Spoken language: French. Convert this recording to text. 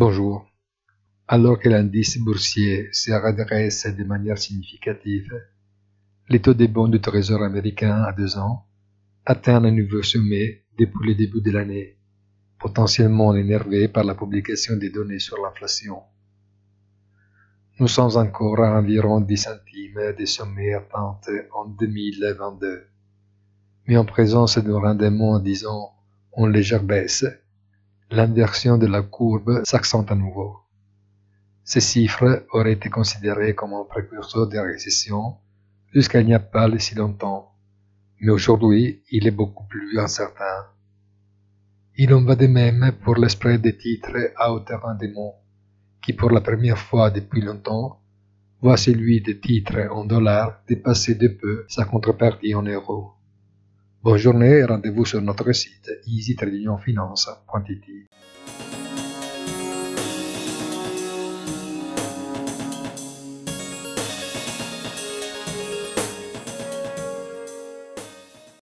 Bonjour. Alors que l'indice boursier se redresse de manière significative, les taux des bons du Trésor américain à 2 ans atteint un nouveau sommet depuis le début de l'année, potentiellement énervé par la publication des données sur l'inflation. Nous sommes encore à environ 10 centimes des sommets atteints en 2022, mais en présence d'un rendement, disons, en légère baisse, l'inversion de la courbe s'accentue à nouveau. Ces chiffres auraient été considérés comme un précurseur de récession jusqu'à il n'y a pas si longtemps, mais aujourd'hui il est beaucoup plus incertain. Il en va de même pour le spread des titres à haut rendement, qui pour la première fois depuis longtemps voit celui des titres en dollars dépasser de peu sa contrepartie en euros. Bonne journée et rendez-vous sur notre site easytradingfinance.it.